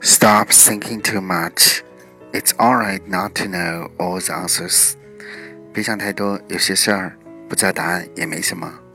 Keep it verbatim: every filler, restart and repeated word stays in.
Stop thinking too much. It's alright not to know all the answers. 别想太多，有些事儿不知道答案也没什么。